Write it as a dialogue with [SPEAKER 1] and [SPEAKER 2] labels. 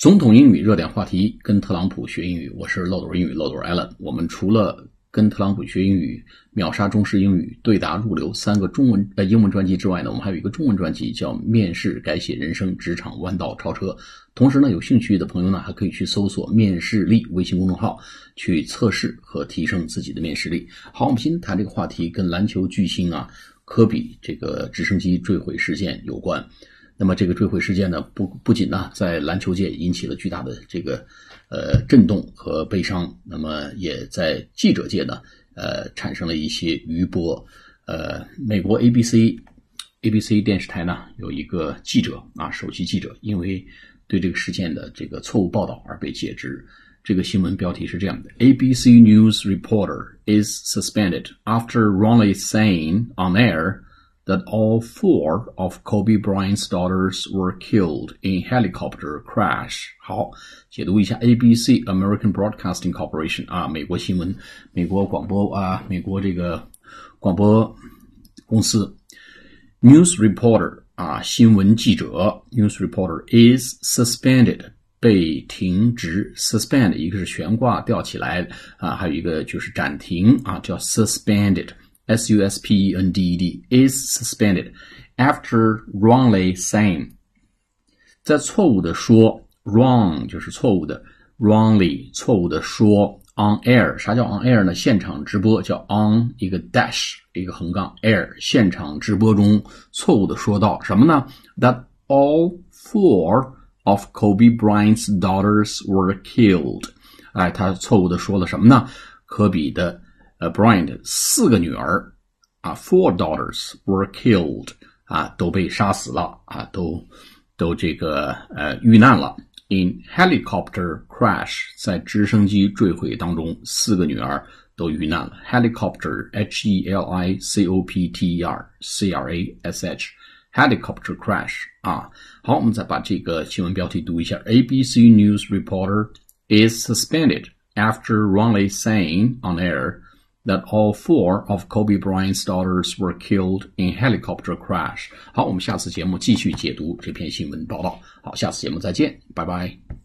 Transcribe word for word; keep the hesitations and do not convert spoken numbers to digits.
[SPEAKER 1] 总统英语热点话题，跟特朗普学英语，我是漏斗英语漏斗 Allen。我们除了跟特朗普学英语、秒杀中式英语、对答入流三个中文呃英文专辑之外呢，我们还有一个中文专辑叫《面试改写人生，职场弯道超车》。同时呢，有兴趣的朋友呢，还可以去搜索面试力微信公众号，去测试和提升自己的面试力。好，我们今天谈这个话题跟篮球巨星啊科比这个直升机坠毁事件有关。那么这个坠毁事件呢，不不仅呢在篮球界引起了巨大的这个呃震动和悲伤，那么也在记者界呢呃产生了一些余波。呃，美国 A B C A B C 电视台呢有一个记者啊，首席记者，因为对这个事件的这个错误报道而被解职。这个新闻标题是这样的 ：A B C News reporter is suspended after wrongly saying on air.that all four of Kobe Bryant's daughters were killed in helicopter crash. 好，解读一下 A B C American Broadcasting Corporation 啊，美国新闻，美国广播啊，美国这个广播公司。News reporter 啊，新闻记者 ，News reporter is suspended 被停职 ，suspend 一个是悬挂吊起来啊，还有一个就是暂停啊，叫 suspended。S U S P E N D E D is suspended after wrongly saying 在错误的说 wrong 就是错误的 wrongly 错误的说 on air 啥叫 on air 呢？现场直播叫 on 一个 dash 一个横杠 air 现场直播中错误的说到什么呢？ That all four of Kobe Bryant's daughters were killed 哎，他错误的说了什么呢？科比的呃 Bryant 四个女儿啊 four daughters were killed 啊都被杀死了啊都都这个呃遇难了 in helicopter crash 在直升机坠毁当中四个女儿都遇难了 helicopter H E L I C O P T E R C R A S H helicopter crash 啊好我们再把这个新闻标题读一下 A B C News reporter is suspended after wrongly saying on air.That all four of Kobe Bryant's daughters were killed in helicopter crash. 好，我们下次节目继续解读这篇新闻报道。好，下次节目再见，拜拜。